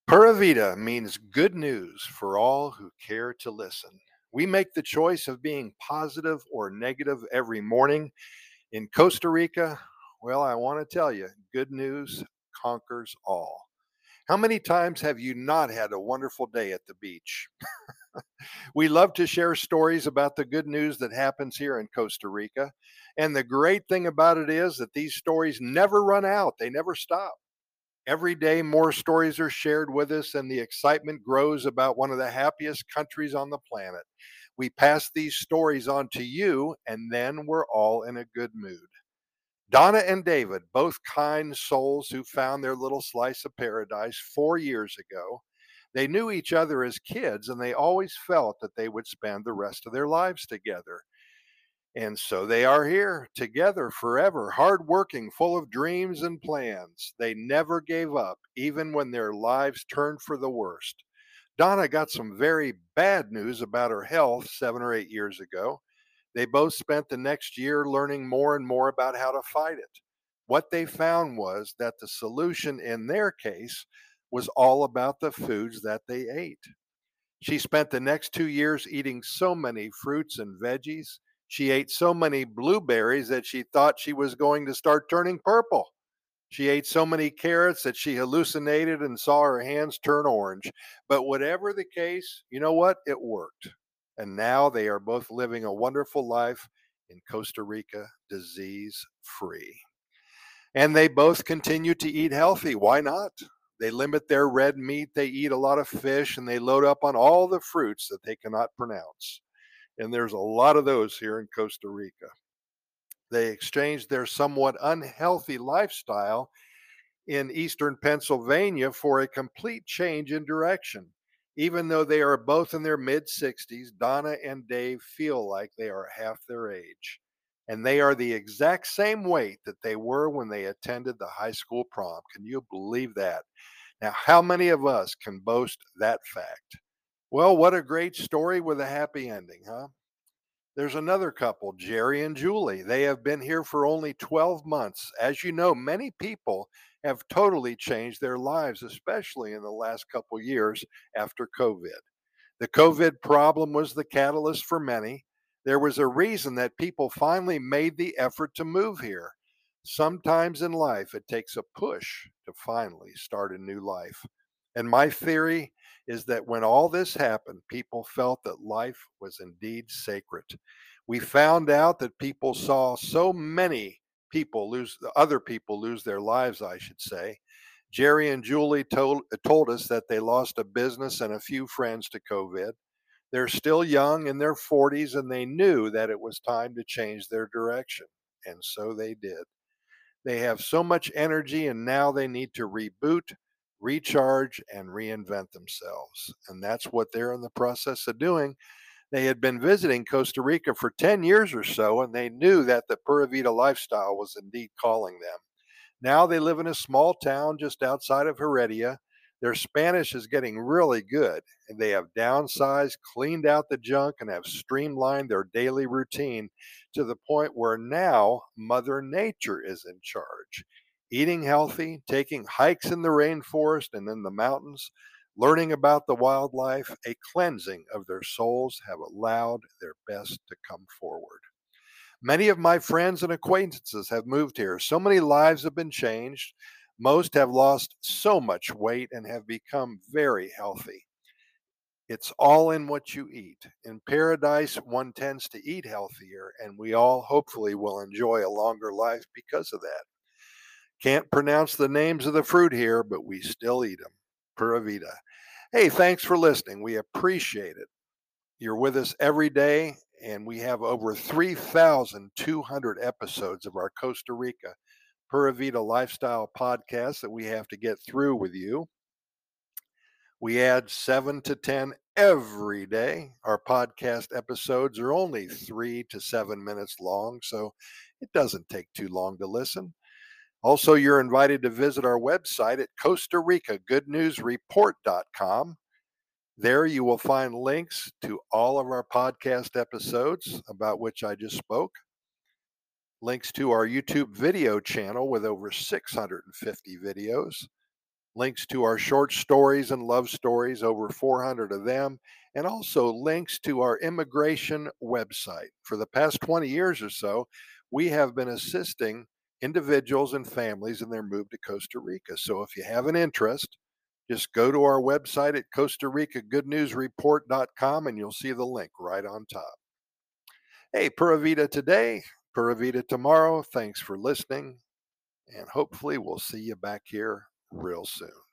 Pura Vida means good news for all who care to listen. We make the choice of being positive or negative every morning. In Costa Rica, well, I want to tell you, good news conquers all. How many times have you not had a wonderful day at the beach? We love to share stories about the good news that happens here in Costa Rica. And the great thing about it is that these stories never run out, they never stop. Every day, more stories are shared with us, and the excitement grows about one of the happiest countries on the planet. We pass these stories on to you, and then we're all in a good mood. Donna and David, both kind souls who found their little slice of paradise 4 years ago. They knew each other as kids, and they always felt that they would spend the rest of their lives together. And so they are here together forever, hardworking, full of dreams and plans. They never gave up, even when their lives turned for the worst. Donna got some very bad news about her health 7 or 8 years ago. They both spent the next year learning more and more about how to fight it. What they found was that the solution in their case was all about the foods that they ate. She spent the next 2 years eating so many fruits and veggies. She ate so many blueberries that she thought she was going to start turning purple. She ate so many carrots that she hallucinated and saw her hands turn orange. But whatever the case, you know what? It worked. And now they are both living a wonderful life in Costa Rica, disease free. And they both continue to eat healthy. Why not? They limit their red meat, they eat a lot of fish, and they load up on all the fruits that they cannot pronounce. And there's a lot of those here in Costa Rica. They exchanged their somewhat unhealthy lifestyle in eastern Pennsylvania for a complete change in direction. Even though they are both in their mid 60s, Donna and Dave feel like they are half their age. And they are the exact same weight that they were when they attended the high school prom. Can you believe that? Now, how many of us can boast that fact? Well, what a great story with a happy ending, huh? There's another couple, Jerry and Julie. They have been here for only 12 months. As you know, many people have totally changed their lives, especially in the last couple years after COVID. The COVID problem was the catalyst for many. There was a reason that people finally made the effort to move here. Sometimes in life, it takes a push to finally start a new life. And my theory is that when all this happened, people felt that life was indeed sacred. We found out that people saw so many other people lose their lives, I should say. Jerry and Julie told us that they lost a business and a few friends to COVID. They're still young in their 40s and they knew that it was time to change their direction. And so they did. They have so much energy and now they need to reboot, recharge, and reinvent themselves. And that's what they're in the process of doing. They had been visiting Costa Rica for 10 years or so, and they knew that the Pura Vida lifestyle was indeed calling them. Now they live in a small town just outside of Heredia. Their Spanish is getting really good, and they have downsized, cleaned out the junk, and have streamlined their daily routine to the point where now Mother Nature is in charge. Eating healthy, taking hikes in the rainforest and in the mountains, learning about the wildlife, a cleansing of their souls have allowed their best to come forward. Many of my friends and acquaintances have moved here. So many lives have been changed. Most have lost so much weight and have become very healthy. It's all in what you eat. In paradise, one tends to eat healthier, and we all hopefully will enjoy a longer life because of that. Can't pronounce the names of the fruit here, but we still eat them. Pura vida. Hey, thanks for listening. We appreciate it. You're with us every day, and we have over 3,200 episodes of our Costa Rica Pura Vida lifestyle podcast that we have to get through with you. We add 7 to 10 every day. Our podcast episodes are only 3 to 7 minutes long, so it doesn't take too long to listen. Also, you're invited to visit our website at Costa Rica Good News Report.com. There you will find links to all of our podcast episodes about which I just spoke, links to our YouTube video channel with over 650 videos, links to our short stories and love stories, over 400 of them, and also links to our immigration website. For the past 20 years or so, we have been assisting individuals and families in their move to Costa Rica. So if you have an interest, just go to our website at Costa Rica GoodNewsReport.com and you'll see the link right on top. Hey, Pura Vida today, Pura Vida tomorrow. Thanks for listening, and hopefully we'll see you back here real soon.